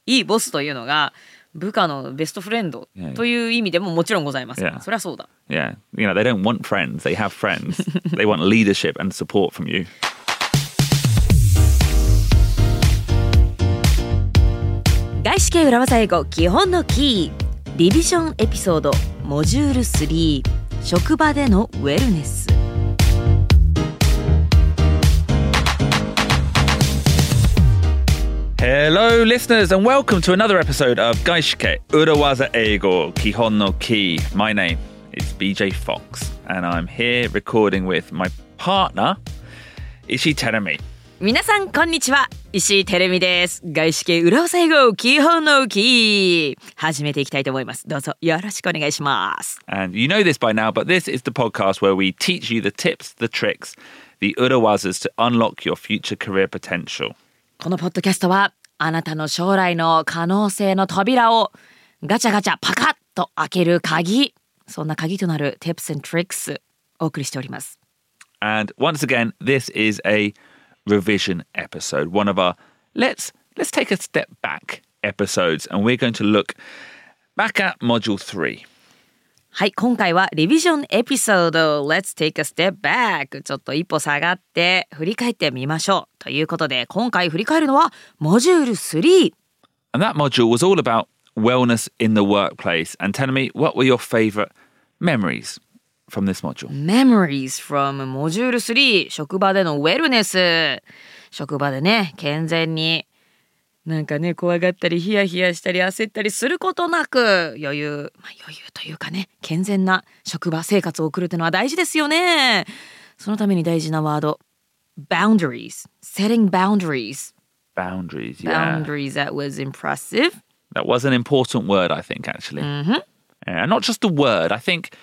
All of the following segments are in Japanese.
いいボスというのが部下のベストフレンドという意味でももちろんございます。そりゃそうだ。 Yeah, you know, they don't want friends, they have friends. They want leadership and support from you. 外資系裏技英語基本のキーリビジョンエピソードモジュール3職場でのウェルネス。 Hello listeners and welcome to another episode of 外資系裏技英語基本のキー。 My name is BJ Fox and I'm here recording with my partner Ishii Terumi。 皆さんこんにちは、石井てるみです。外資系裏技英語基本のキー始めていきたいと思います。どうぞよろしくお願いします。 And you know this by now, but this is the podcast where we teach you the tips, the tricks, the 裏技 to unlock your future career potential。 このポッドキャストはあなたの将来の可能性の扉をガチャガチャパカッと開ける鍵、そんな鍵となる Tips and Tricks お送りしております。 And once again, this is a revision episode, one of our let's take a step back episodes, and we're going to look back at module 3。 はい、今回はリビジョンエピソード Let's take a step back ちょっと一歩下がって振り返ってみましょうということで、今回振り返るのはモジュール3。 And that module was all about wellness in the workplace. And tell me, what were your favorite memories from this module? Memories from モジュール3職場でのウェルネス。職場でね、健全になんかね、怖がったりヒヤヒヤしたり焦ったりすることなく余裕というかね、健全な職場生活を送るというのは大事ですよね。そのために大事なワード boundaries, setting boundaries. Boundaries, yeah. Boundaries, that was impressive. That was an important word, I think, actually. And not just a word. I think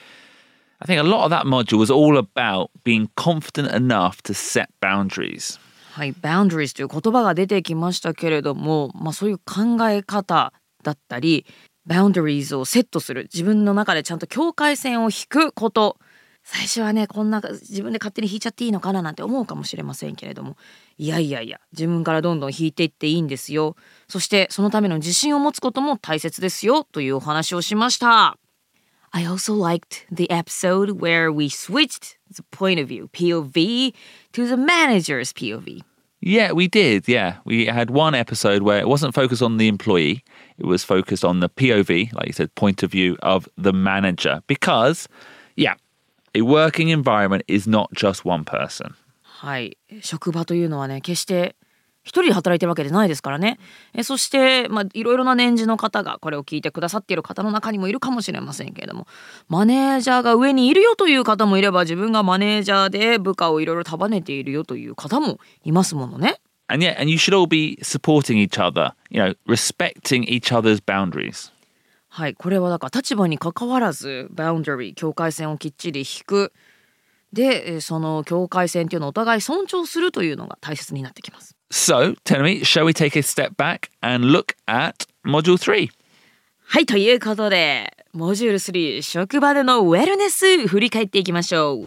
a lot of that module was all about being confident enough to set boundaries. はい、boundaries という言葉が出てきましたけれども、そういう考え方だったり boundaries をセットする、自分の中でちゃんと境界線を引くこと。最初はね、こんな自分で勝手に引いちゃっていいのかななんて思うかもしれませんけれども、いや自分からどんどん引いていっていいんですよ。そしてそのための自信を持つことも大切ですよというお話をしました。I also liked the episode where we switched the point of view, POV, to the manager's POV. Yeah, we did. Yeah, we had one episode where it wasn't focused on the employee. It was focused on the POV, like you said, point of view of the manager. Because, yeah, a working environment is not just one person. はい、職場というのはね、決して一人で働いてるわけじゃないですからね。そして、いろいろな年次の方がこれを聞いてくださっている方の中にもいるかもしれませんけれども、マネージャーが上にいるよという方もいれば、自分がマネージャーで部下をいろいろ束ねているよという方もいますものね。 And yeah, and you should all be supporting each other, you know, respecting each other's boundaries. はい、これはだから立場に関わらずboundary、境界線をきっちり引く。で、その境界線というのをお互い尊重するというのが大切になってきます。 So, tell me, shall we take a step back and look at Module 3? はい、ということで、モジュール3、職場でのウェルネス、振り返っていきましょう。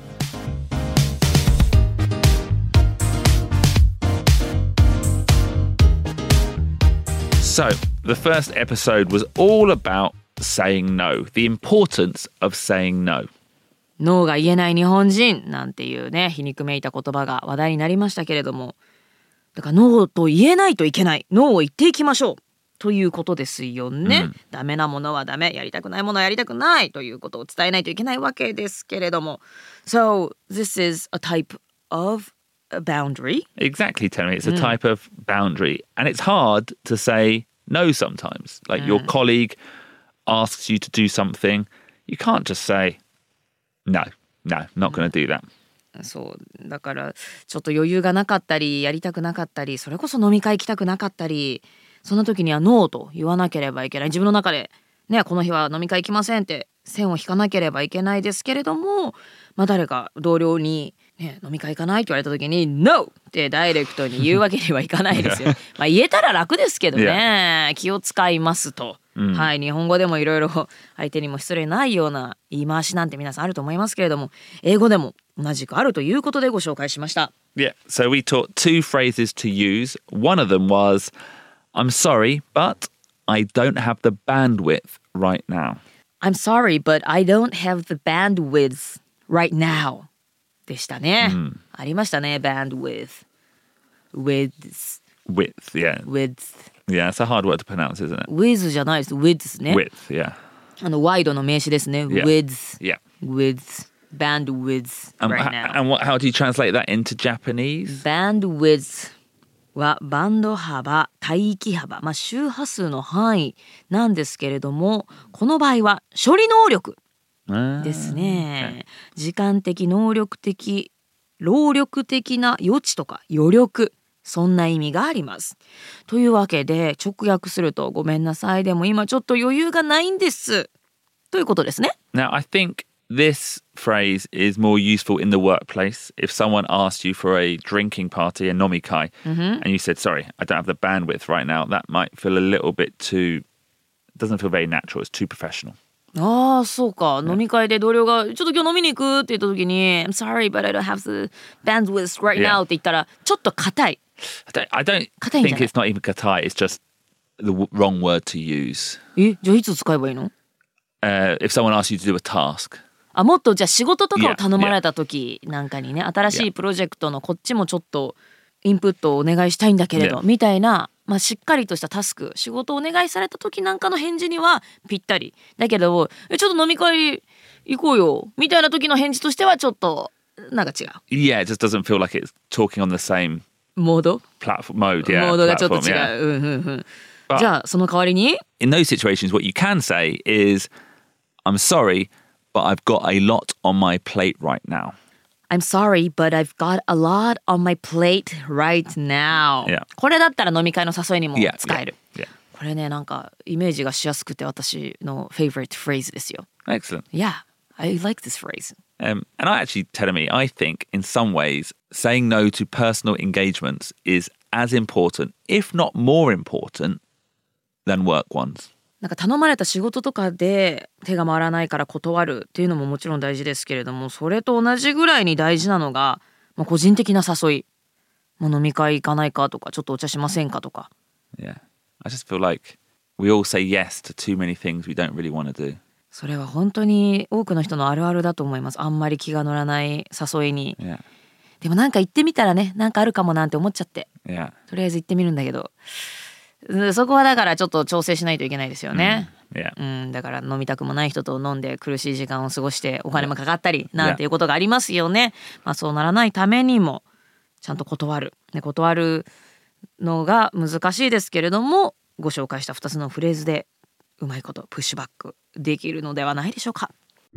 So, the first episode was all about saying no, the importance of saying no. ノーが言えない日本人なんていうね、皮肉めいた言葉が話題になりましたけれども、だからノーと言えないといけない、ノーを言っていきましょうということですよね。ダメなものはダメ、やりたくないものはやりたくないということを伝えないといけないわけですけれども。So, this is a type of a boundary. Exactly, Terry. It's a type of boundary. And it's hard to say no sometimes. Like your colleague asks you to do something, you can't just say, No, not going to do that. そうだからちょっと余裕がなかったりやりたくなかったり、それこそ飲み会行きたくなかったり、そんな時にはノーと言わなければいけない。自分の中でね、この日は飲み会行きませんって線を引かなければいけないですけれども、誰か同僚に、ね、飲み会行かないって言われた時に NO! ってダイレクトに言うわけにはいかないですよ。言えたら楽ですけどね、気を使いますと。はい、日本語でもいろいろ相手にも失礼ないような言い回しなんて皆さんあると思いますけれども、英語でも同じくあるということでご紹介しました。 Yeah, so we taught two phrases to use. One of them was, I'm sorry, but I don't have the bandwidth right now. I'm sorry, but I don't have the bandwidth right now. でしたね。ありましたね、bandwidth. Width. Width, yeah. Width. Yeah, it's a hard word to pronounce, isn't it? Width じゃないです。width ですね。 Width, yeah. ワイドの名詞ですね。 Yeah. width. Yeah. Width. Bandwidth right now. And how do you translate that into Japanese? Bandwidth はバンド幅、帯域幅、周波数の範囲なんですけれども、この場合は処理能力ですね。時間的、能力的、労力的な余地とか余力、そんな意味があります。というわけで直訳するとごめんなさい、でも今ちょっと余裕がないんですということですね。 Now, I think this phrase is more useful in the workplace. If someone asked you for a drinking party, a nomikai, and you said, sorry, I don't have the bandwidth right now, that might feel a little bit too, doesn't feel very natural. It's too professional. ああ、そうか。飲み会で同僚がちょっと今日飲みに行くって言った時に I'm sorry, but I don't have the bandwidth right now って言ったらちょっと硬い。 I don't think it's not even katai. It's just the wrong word to use. じゃあいつ使えばいいの ？If someone asks you to do a task. もっとじゃあ仕事とかを頼まれた時なんかにね、新しいプロジェクトのこっちもちょっとインプットをお願いしたいんだけれど、みたいな、しっかりとしたタスク、仕事をお願いされた時なんかの返事にはぴったりだけど、ちょっと飲み会行こうよみたいな時の返事としてはちょっとなんか違う。 Yeah, it just doesn't feel like it's talking on the same モード platform mode. Yeah, モードがちょっと違う。 じゃあその代わりに In those situations, what you can say is, I'm sorry, but I've got a lot on my plate right now. I'm sorry, but I've got a lot on my plate right now. Yeah. これだったら飲み会の誘いにも使える。 Yeah. これね、なんかイメージがしやすくて私の favorite phrase ですよ。 Excellent. Yeah, I like this phrase. And I actually, Terumi, I think in some ways, saying no to personal engagements is as important, if not more important, than work ones. なんか頼まれた仕事とかで手が回らないから断るっていうのももちろん大事ですけれども、それと同じぐらいに大事なのが、個人的な誘い、飲み会行かないかとか、ちょっとお茶しませんかとか。 Yeah, I just feel like we all say yes to too many things we don't really want to do. それは本当に多くの人のあるあるだと思います。あんまり気が乗らない誘いに。 Yeah. でもなんか行ってみたらね、なんかあるかもなんて思っちゃって。 Yeah. とりあえず行ってみるんだけど。そこはだからちょっと調整しないといけないですよね。 Yeah. だから飲みたくもない人と飲んで苦しい時間を過ごしてお金もかかったりなんていうことがありますよね。そうならないためにもちゃんと断る。断るのが難しいですけれども、ご紹介した2つのフレーズでうまいことプッシュバックできるのではないでしょうか。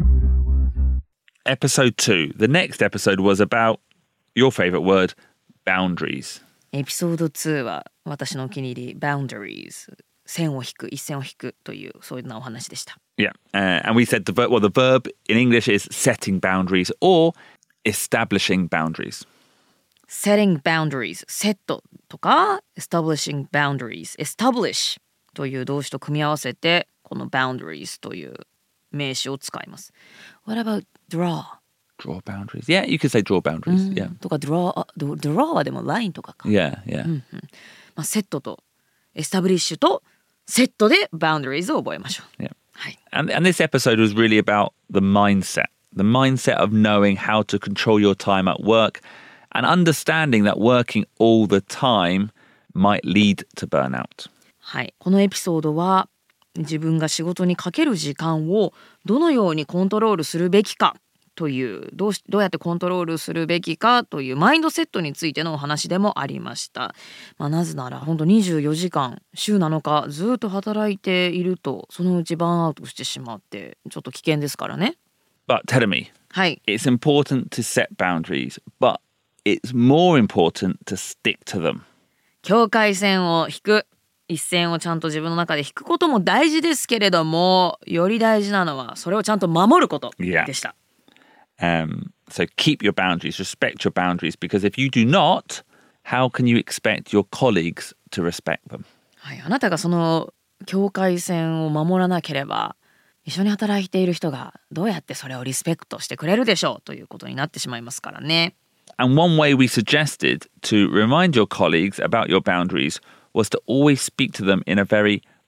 Episode 2. The next episode was about your favorite word, boundaries. エピソード2は私のお気に入り boundaries 線を引く一線を引くというそういうなお話でした。 Yeah, and we said the verb in English is setting boundaries or establishing boundaries. setting boundaries セットとか establishing boundaries establish という動詞と組み合わせてこの boundaries という名詞を使います。What about draw?Draw boundaries. Yeah, you could say draw boundaries. Yeah. とか draw はでもラインとかか。 Yeah, yeah. セットとエスタブリッシュとセットで boundaries を覚えましょう。 Yeah. はい。 And this episode was really about the mindset of knowing how to control your time at work and understanding that working all the time might lead to burnout. はい。このエピソードは自分が仕事にかける時間をどのようにコントロールするべきかというどうやってコントロールするべきかというマインドセットについてのお話でもありました。なぜなら本当24時間週7日ずっと働いているとそのうちバーンアウトしてしまってちょっと危険ですからね。 But Terumi, はい。 It's important to set boundaries, but it's more important to stick to them. 境界線を引く。一線をちゃんと自分の中で引くことも大事ですけれども、より大事なのはそれをちゃんと守ることでした。 So keep your boundaries, respect your boundaries, because if you do not, how can you expect your colleagues to respect them? はい、あなたがその境界線を守らなければ、一緒に働いている人がどうやってそれをリスペクトしてくれるでしょうということになってしまいますからね。 And one way we suggested to remind your colleagues about your boundaries was to always speak to them in a very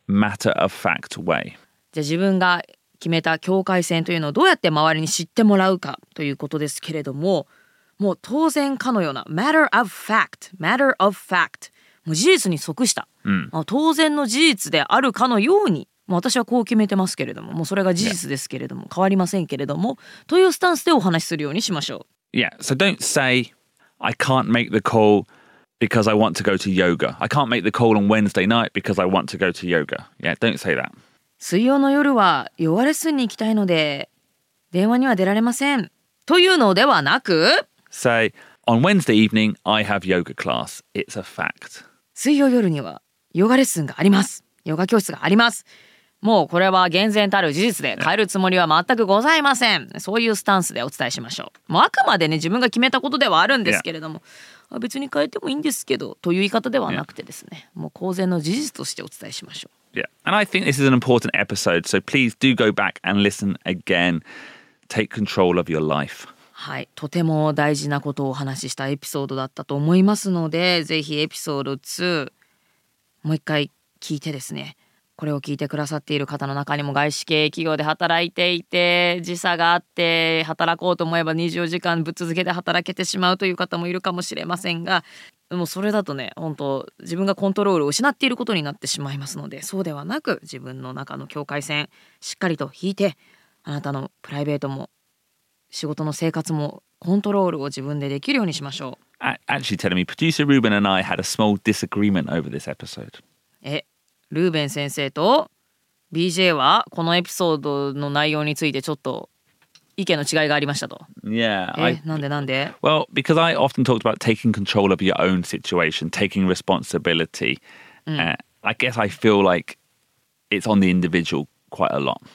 matter of fact way. じゃあ自分が決めた境界線というのをどうやって周りに知ってもらうかということですけれども、もう当然かのような matter of fact もう事実に即した、当然の事実であるかのように、私はこう決めてますけれども、もうそれが事実ですけれども、変わりませんけれどもというスタンスでお話しするようにしましょう。 Yeah, so don't say I can't make the call because I want to go to yoga. I can't make the call on Wednesday night because I want to go to yoga. Yeah, don't say that. 水曜の夜はヨガレッスンに行きたいので電話には出られませんというのではなく、 Say, on Wednesday evening, I have yoga class. It's a fact. 水曜夜にはヨガレッスンがあります。ヨガ教室があります。もうこれは厳然たる事実で変えるつもりは全くございません。そういうスタンスでお伝えしましょう。もうあくまでね自分が決めたことではあるんですけれども、別に変えてもいいんですけどという言い方ではなくてですね、もう公然の事実としてお伝えしましょう。 Yeah, and I think this is an important episode, so please do go back and listen again. Take control of your life. はい、とても大事なことをお話ししたエピソードだったと思いますので、ぜひエピソード2もう一回聞いてですね、これを聞いてくださっている方の中にも外資系企業で働いていて時差があって働こうと思えば24時間ぶっ続けて働けてしまうという方もいるかもしれませんが、でもそれだとね本当自分がコントロールを失っていることになってしまいますので、そうではなく自分の中の境界線しっかりと引いて、あなたのプライベートも仕事の生活もコントロールを自分でできるようにしましょう。 Actually telling me, producer Ruben and I had a small disagreement over this episode. ルーベン先生と BJ はこのエピソードの内容についてちょっと意見の違いがありましたと。 Yeah. なんで Well, because I often talked about taking control of your own situation, taking responsibility. I guess I feel like it's on the individual quite a lot.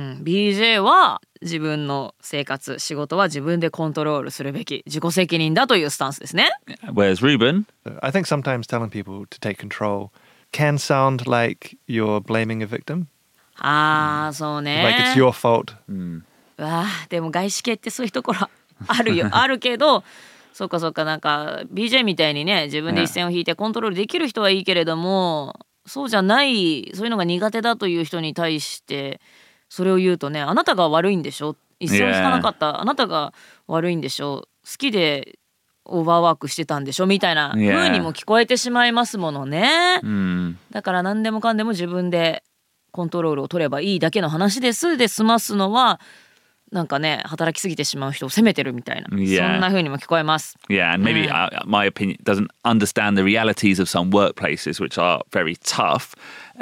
BJ は自分の生活仕事は自分でコントロールするべき自己責任だというスタンスですね。 Whereas Ruben, I think sometimes telling people to take control can sound like you're blaming a victim. そうね。 Like it's your fault. でも外資系ってそういうところあるよあるけど、そうかなんか BJ みたいにね自分で一線を引いてコントロールできる人はいいけれども、そうじゃないそういうのが苦手だという人に対してそれを言うとね、あなたが悪いんでしょ、一線を引かなかったあなたが悪いんでしょ、好きでオーバーワークしてたんでしょみたいな風にも聞こえてしまいますものね。だから何でもかんでも自分でコントロールを取ればいいだけの話ですで済ますのはなんかね働きすぎてしまう人を責めてるみたいな、そんな風にも聞こえます。 Yeah, and maybe my opinion doesn't understand the realities of some workplaces which are very tough.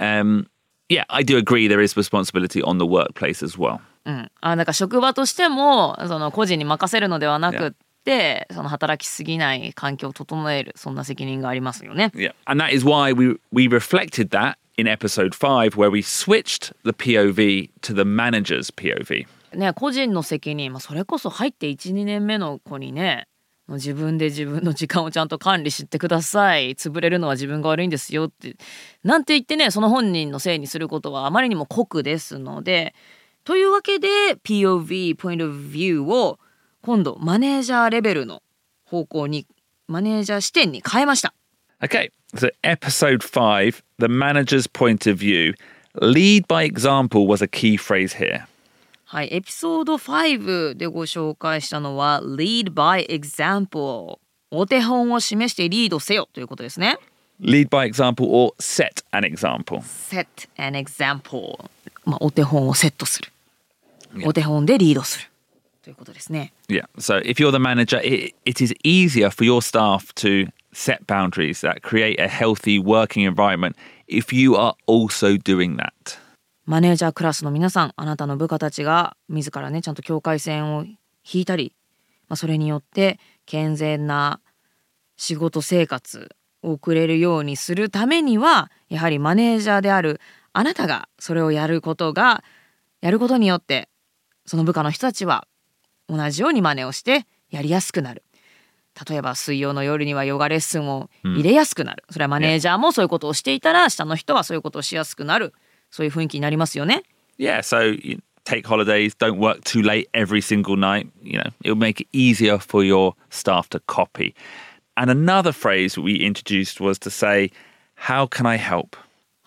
Yeah, I do agree there is responsibility on the workplace as well. なんか職場としてもその個人に任せるのではなくってその働きすぎない環境を整える、そんな責任がありますよね。 Yeah, and that is why we reflected that in episode 5 where we switched the POV to the manager's POV. ね、個人の責任、それこそ入って 1,2 年目の子にね自分で自分の時間をちゃんと管理してください、潰れるのは自分が悪いんですよってなんて言ってね、その本人のせいにすることはあまりにも酷ですので、というわけで POV Point of View を今度マネージャーレベルの方向にマネージャー視点に変えました。 Okay, so episode 5, the manager's point of view. Lead by example was a key phrase here. はい、エピソード5でご紹介したのは Lead by example、 お手本を示してリードせよということですね。 Lead by example or set an example. Set an example、お手本をセットする、お手本でリードするということですね。 Yeah, so if you're the manager, it is easier for your staff to set boundaries that create a healthy working environment if you are also doing that. マネージャークラスの皆さん、あなたの部下たちが自らねちゃんと境界線を引いたり、それによって健全な仕事生活を送れるようにするためには、やはりマネージャーであるあなたがそれをやることによってその部下の人たちは同じように真似をしてやりやすくなる。例えば水曜の夜にはヨガレッスンを入れやすくなる、それはマネージャーもそういうことをしていたら下の人はそういうことをしやすくなる、そういう雰囲気になりますよね。 Yeah, so you take holidays, don't work too late every single night. You know, it'll make it easier for your staff to copy. And another phrase we introduced was to say, how can I help?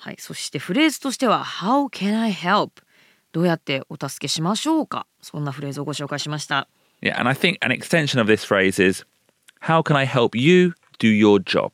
はい、そしてフレーズとしては How can I help? どうやってお助けしましょうか。そんなフレーズをご紹介しました。 Yeah, and I think an extension of this phrase is How can I help you do your job?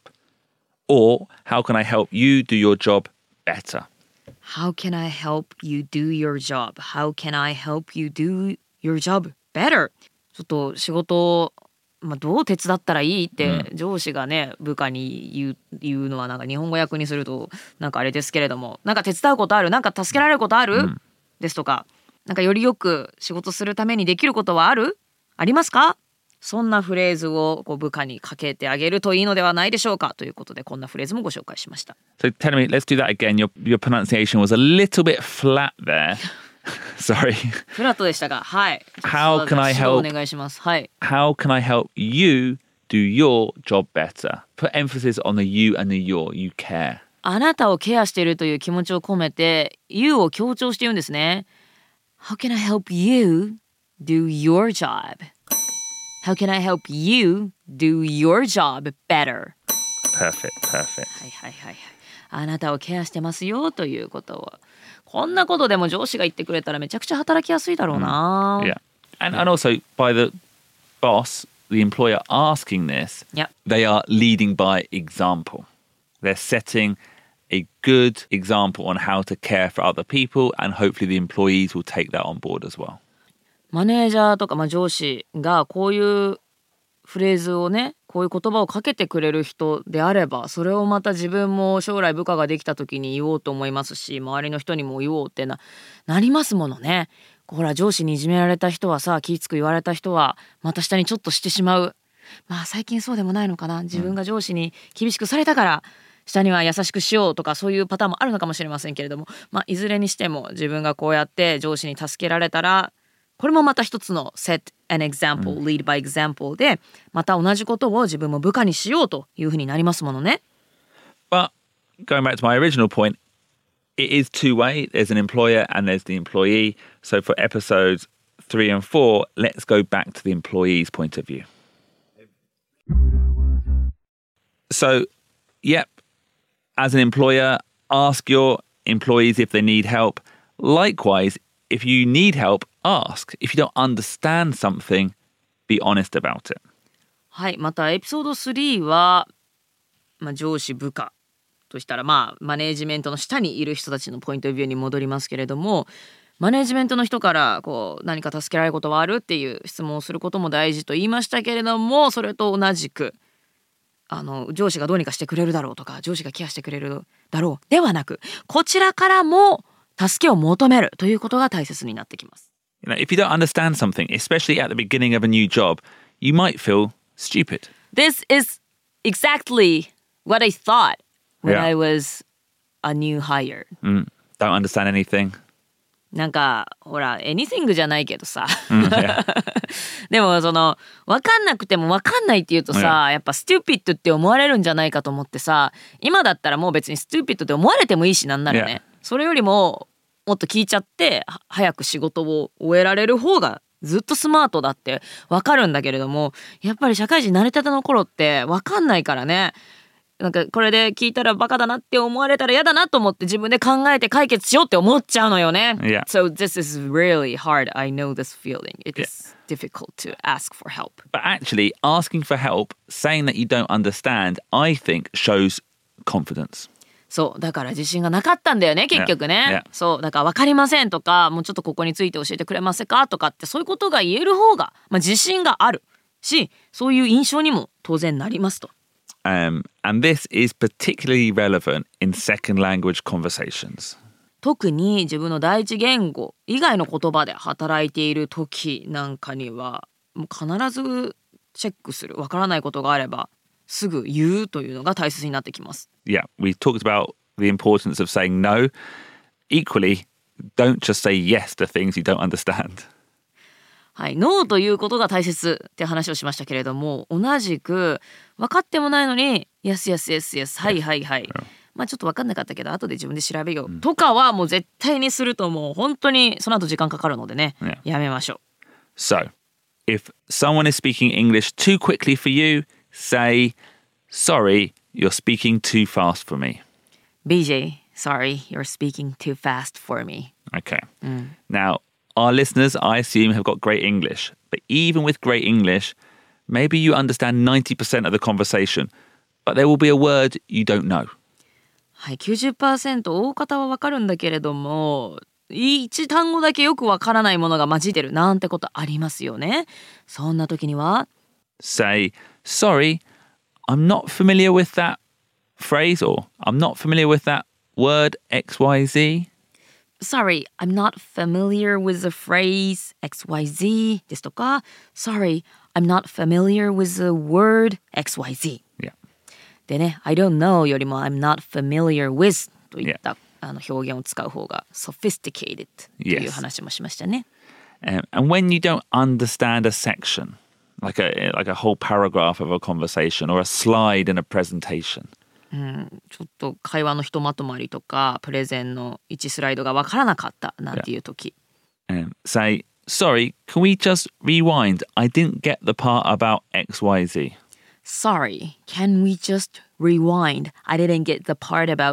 Or How can I help you do your job better? How can I help you do your job? How can I help you do your job better? ちょっと仕事を、どう手伝ったらいいって上司がね、部下に言うのはなんか日本語訳にするとなんかあれですけれども、なんか手伝うことある？なんか助けられることある？ですとか、なんかよりよく仕事するためにできることはある？ありますか？そんなフレーズを部下にかけてあげるといいのではないでしょうかということで、こんなフレーズもご紹介しました。 So tell me, let's do that again. Your pronunciation was a little bit flat there. Sorry. フラットでしたが、はい。 How can I help? お願いします。はい。 How can I help you do your job better? Put emphasis on the you and the your. You care. あなたをケアしているという気持ちを込めて you を強調して言うんですね。How can I help you do your job? How can I help you do your job better? Perfect. はいはいはいはい。あなたをケアしてますよということを。こんなことでも上司が言ってくれたらめちゃくちゃ働きやすいだろうな。 Yeah. And also by the boss, the employer asking this, Yep. they are leading by example. They're setting a good example on how to care for other people, and hopefully the employees will take that on board as well. マネージャーとか、上司がこういうフレーズをね、こういう言葉をかけてくれる人であれば、それをまた自分も将来部下ができた時に言おうと思いますし、周りの人にも言おうってなりますものね。ほら上司にいじめられた人はさ、気つく言われた人はまた下にちょっとしてしまう。最近そうでもないのかな。自分が上司に厳しくされたから下には優しくしようとか、そういうパターンもあるのかもしれませんけれども、いずれにしても自分がこうやって上司に助けられたら、これもまた一つの set an example, lead by example で、また同じことを自分も部下にしようというふうになりますものね。 But going back to my original point, it is two-way. There's an employer and there's the employee. So for episodes 3 and 4, let's go back to the employee's point of view. So, yep, as an employer, ask your employees if they need help. Likewise, if you need help, ask. If you don't understand something, be honest about it. はい、またエピソード3は、上司部下としたら、マネージメントの下にいる人たちのポイントビューに戻りますけれども、マネージメントの人から何か助けられることはあるっていう質問をすることも大事と言いましたけれども、それと同じく上司がどうにかしてくれるだろうとか、上司がケアしてくれるだろうではなく、こちらからも助けを求めるということが大切になってきます。 You know, if you don't understand something, especially at the beginning of a new job, you might feel stupid. This is exactly what I thought when Yeah. I was a new hire. Don't understand anything. なんかほら anything じゃないけどさ、 Yeah. でも分かんなくても分かんないって言うとさ、やっぱ stupid って思われるんじゃないかと思ってさ、今だったらもう別に stupid って思われてもいいし、なんならね、それよりももっと聞いちゃって早く仕事を終えられる方がずっとスマートだって分かるんだけれども、やっぱり社会人慣れたての頃って分かんないからね、なんかこれで聞いたらバカだなって思われたら嫌だなと思って自分で考えて解決しようって思っちゃうのよね。 Yeah. So this is really hard. I know this feeling. It is difficult to ask for help. But actually, asking for help, saying that you don't understand, I think shows confidence. そうだから自信がなかったんだよね結局ね。そうだから分かりませんとか、もうちょっとここについて教えてくれませんかとかって、そういうことが言える方が、自信があるし、そういう印象にも当然なりますと。 And this is particularly relevant in second language conversations. 特に自分の第一言語以外の言葉で働いている時なんかには、もう必ずチェックする。分からないことがあればすぐ言うというのが大切になってきます。 Yeah, we talked about the importance of saying no. Equally, don't just say yes to things you don't understand. はい、ノーということが大切って話をしましたけれども、同じく分かってもないのに yes yes yes yes はいはいはい、ちょっと分かんなかったけど後で自分で調べよう、とかはもう絶対にすると、もう本当にその後時間かかるのでね、やめましょう。 So, if someone is speaking English too quickly for you, say, sorry, you're speaking too fast for me. BJ, Sorry, you're speaking too fast for me. Okay. Now, our listeners, I assume, have got great English. But even with great English, maybe you understand 90% of the conversation, but there will be a word you don't know. はい、90% 大方はわかるんだけれども、一単語だけよくわからないものが混じってるなんてことありますよね。そんな時には Say, sorry, I'm not familiar with that phrase, or I'm not familiar with that word XYZ. Sorry, I'm not familiar with the phrase XYZ ですとか Sorry, I'm not familiar with the word XYZ. Yeah. でね、I don't know よりも I'm not familiar with といった表現を使う方が sophisticated という話もしましたね。 And when you don't understand a section, like a whole paragraph of a conversation or a slide in a presentation. ちょっと会話のひとまとまりとかプレゼンの1スライドがわからなかったなんていう時、 Say, sorry, can we just rewind? I didn't get the part about XYZ. Sorry, can we just rewind? I didn't get the part about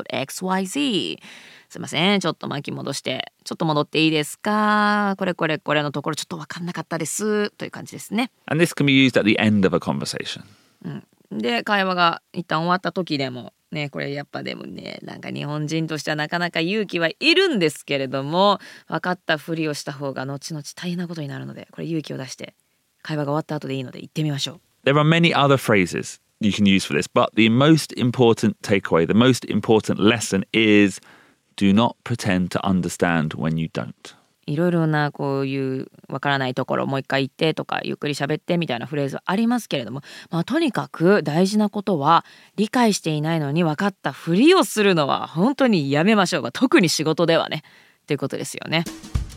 XYZ. すいません、ちょっと巻き戻してちょっと戻っていいですか、これのところちょっと分かんなかったですという感じですね。 And this can be used at the end of a conversation. で会話が一旦終わった時でもね、これやっぱでもね、なんか日本人としてはなかなか勇気はいるんですけれども、分かったふりをした方が後々大変なことになるので、これ勇気を出して会話が終わった後でいいので言ってみましょう。 There are many other phrases you can use for this, but the most important takeaway, the most important lesson is do not pretend to understand when you don't. いろいろなこういうわからないところもう一回言ってとかゆっくり喋ってみたいなフレーズありますけれども、とにかく大事なことは理解していないのに分かったふりをするのは本当にやめましょう。特に仕事ではねということですよね。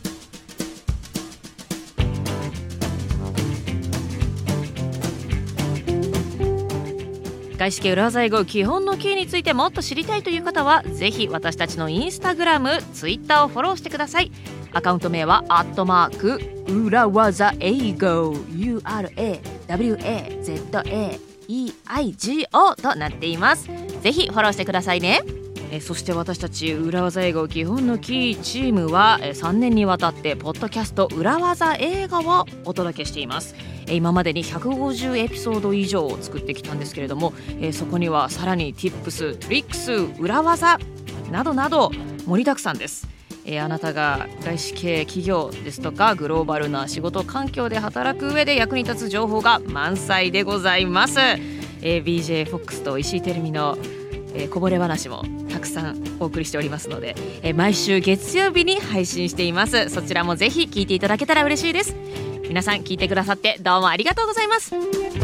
外資系裏技英語基本のキーについてもっと知りたいという方はぜひ私たちのインスタグラム、ツイッターをフォローしてください。アカウント名は裏技英語 URAWAZAEIGO となっています。ぜひフォローしてくださいね。そして私たち裏技英語基本のキーチームは3年にわたってポッドキャスト裏技英語をお届けしています。今までに150エピソード以上を作ってきたんですけれども、そこにはさらに Tips、トリックス、裏技などなど盛りだくさんです。あなたが外資系企業ですとかグローバルな仕事環境で働く上で役に立つ情報が満載でございます。BJ フォックスと石井てるみのこぼれ話もたくさんお送りしておりますので、毎週月曜日に配信しています。そちらもぜひ聞いていただけたら嬉しいです。皆さん聞いてくださってどうもありがとうございます。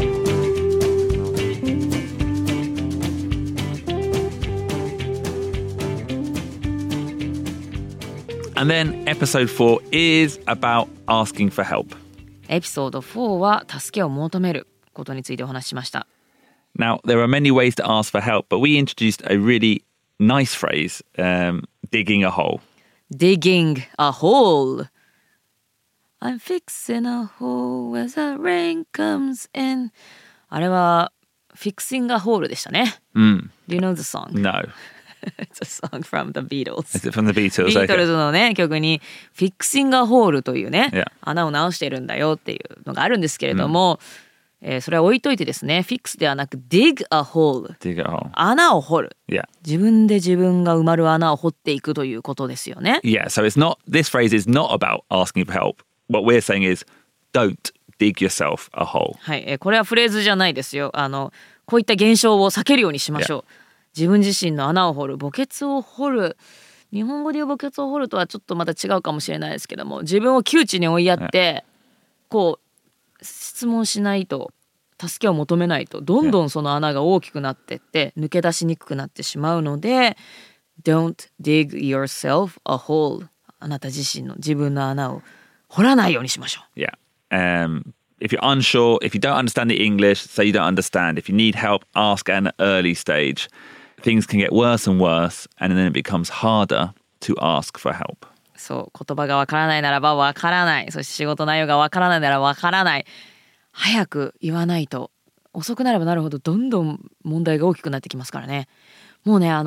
And then episode 4 is about asking for help. エピソード4は助けを求めることについてお話ししました。 Now, there are many ways to ask for help, but we introduced a really nice phrase, digging a hole. Digging a hole. I'm fixing a hole as the rain comes in. あれは Fixing a hole でしたね。Do you know the song? No. It's a song from the Beatles. Is it from the Beatles? ビートルズのね曲に Fixing a hole というね、 Yeah. 穴を直してるんだよっていうのがあるんですけれども、それは置いといてですね、Fix ではなく Dig a hole. Dig a hole. 穴を掘る。 Yeah. 自分で自分が埋まる穴を掘っていくということですよね。 Yeah, so this phrase is not about asking for help. What we're saying is don't dig yourself a hole. はい、これはフレーズじゃないですよ。こういった現象を避けるようにしましょう。自分自身の穴を掘る、墓穴を掘る。日本語で言う墓穴を掘るとはちょっとまた違うかもしれないですけども、自分を窮地に追いやって、こう質問しないと、助けを求めないと、どんどんその穴が大きくなってって抜け出しにくくなってしまうので、Don't dig yourself a hole. あなた自身の自分の穴を掘らないようにしましょう。 Yeah. If you're unsure, if you don't understand the English, say you don't understand. If you need help, ask at an early stage. Things can get worse and worse, and then it becomes harder to ask for help. そう、言葉がわからないならばわからない。そして仕事内容がわからないならわからない。早く言わないと遅くなればなるほどどんどん問題が大きくなってきますからね。もうね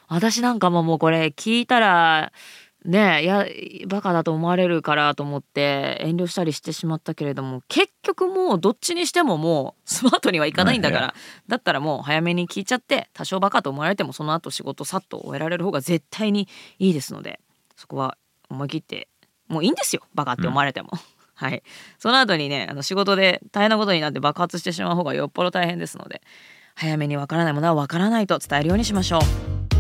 私なんかもうこれ聞いたらね、いやバカだと思われるからと思って遠慮したりしてしまったけれども、結局もうどっちにしてももうスマートにはいかないんだから、だったらもう早めに聞いちゃって、多少バカと思われてもその後仕事さっと終えられる方が絶対にいいですので、そこは思い切ってもういいんですよ、バカって思われても、はい。その後にね、仕事で大変なことになって爆発してしまう方がよっぽど大変ですので、早めにわからないものはわからないと伝えるようにしましょう。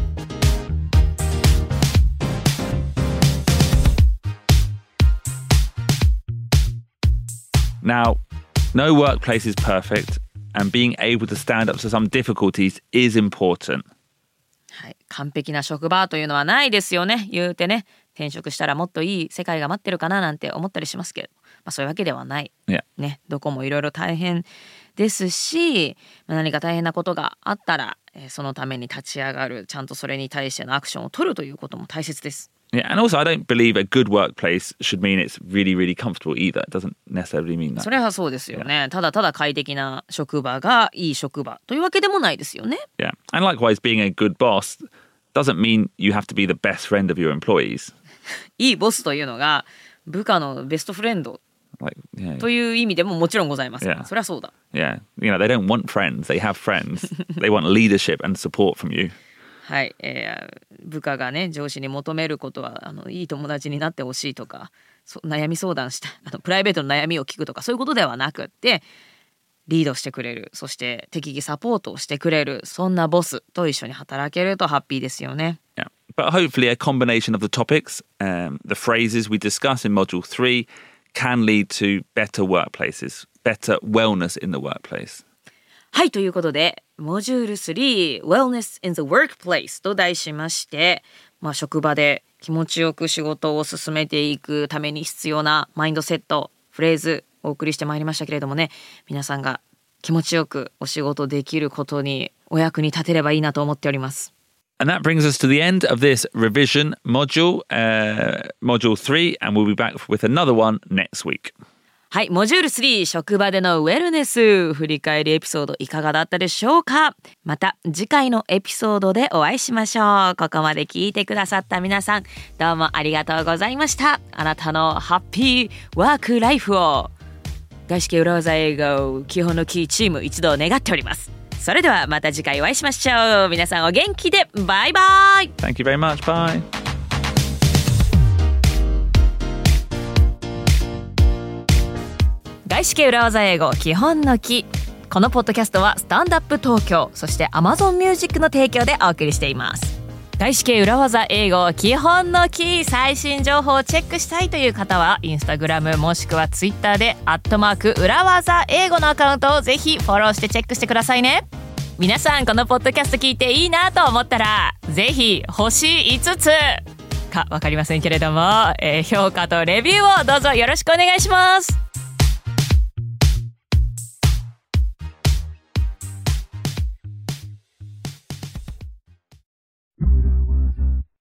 Now, no workplace is perfect, and being able to stand up to some difficulties is important. はい、完璧な職場というのはないですよね。言うてね、転職したらもっといい世界が待ってるかななんて思ったりしますけど、そういうわけではない、 Yeah. ね、どこもいろいろ大変ですし、何か大変なことがあったら、そのために立ち上がる、ちゃんとそれに対してのアクションを取るということも大切です。 Yeah, and also I don't believe a good workplace should mean it's really, really comfortable either. It doesn't necessarily mean that. それはそうですよね。ただただ快適な職場がいい職場というわけでもないですよね。 Yeah, and likewise, being a good boss doesn't mean you have to be the best friend of your employees. いいボスというのが部下のベストフレンド Yeah. という意味でももちろんございます。 Yeah. そりゃそうだ。 Yeah, you know, they don't want friends, they have friends. They want leadership and support from you. はい、部下がね、上司に求めることはいい友達になってほしいとか、悩み相談したプライベートの悩みを聞くとか、そういうことではなくって、リードしてくれる、そして適宜サポートをしてくれる、そんなボスと一緒に働けるとハッピーですよね。 Yeah. But hopefully a combination of the topics, the phrases we discuss in Module 3 can lead to better workplaces, better wellness in the workplace. はい、ということでモジュール3 Wellness in the Workplace と題しまして、職場で気持ちよく仕事を進めていくために必要なマインドセット、フレーズお送りしてまいりましたけれどもね、皆さんが気持ちよくお仕事できることにお役に立てればいいなと思っております。 And that brings us to the end of this revision module, Module 3, and we'll be back with another one next week. はい、モジュール3職場でのウェルネス振り返りエピソードいかがだったでしょうか。また次回のエピソードでお会いしましょう。ここまで聞いてくださった皆さん、どうもありがとうございました。あなたのハッピーワークライフを外資系裏技英語基本のキーチーム一同願っております。それではまた次回お会いしましょう。皆さんお元気でバイバイ。 Thank you very much. Bye. 外資系裏技英語基本のキー。このポッドキャストはスタンドアップ東京、そして Amazon Music の提供でお送りしています。外資系裏技英語基本のキー、最新情報をチェックしたいという方はインスタグラムもしくはツイッターで@裏技英語のアカウントをぜひフォローしてチェックしてくださいね。皆さんこのポッドキャスト聞いていいなと思ったらぜひ星5つか分かりませんけれども、評価とレビューをどうぞよろしくお願いします。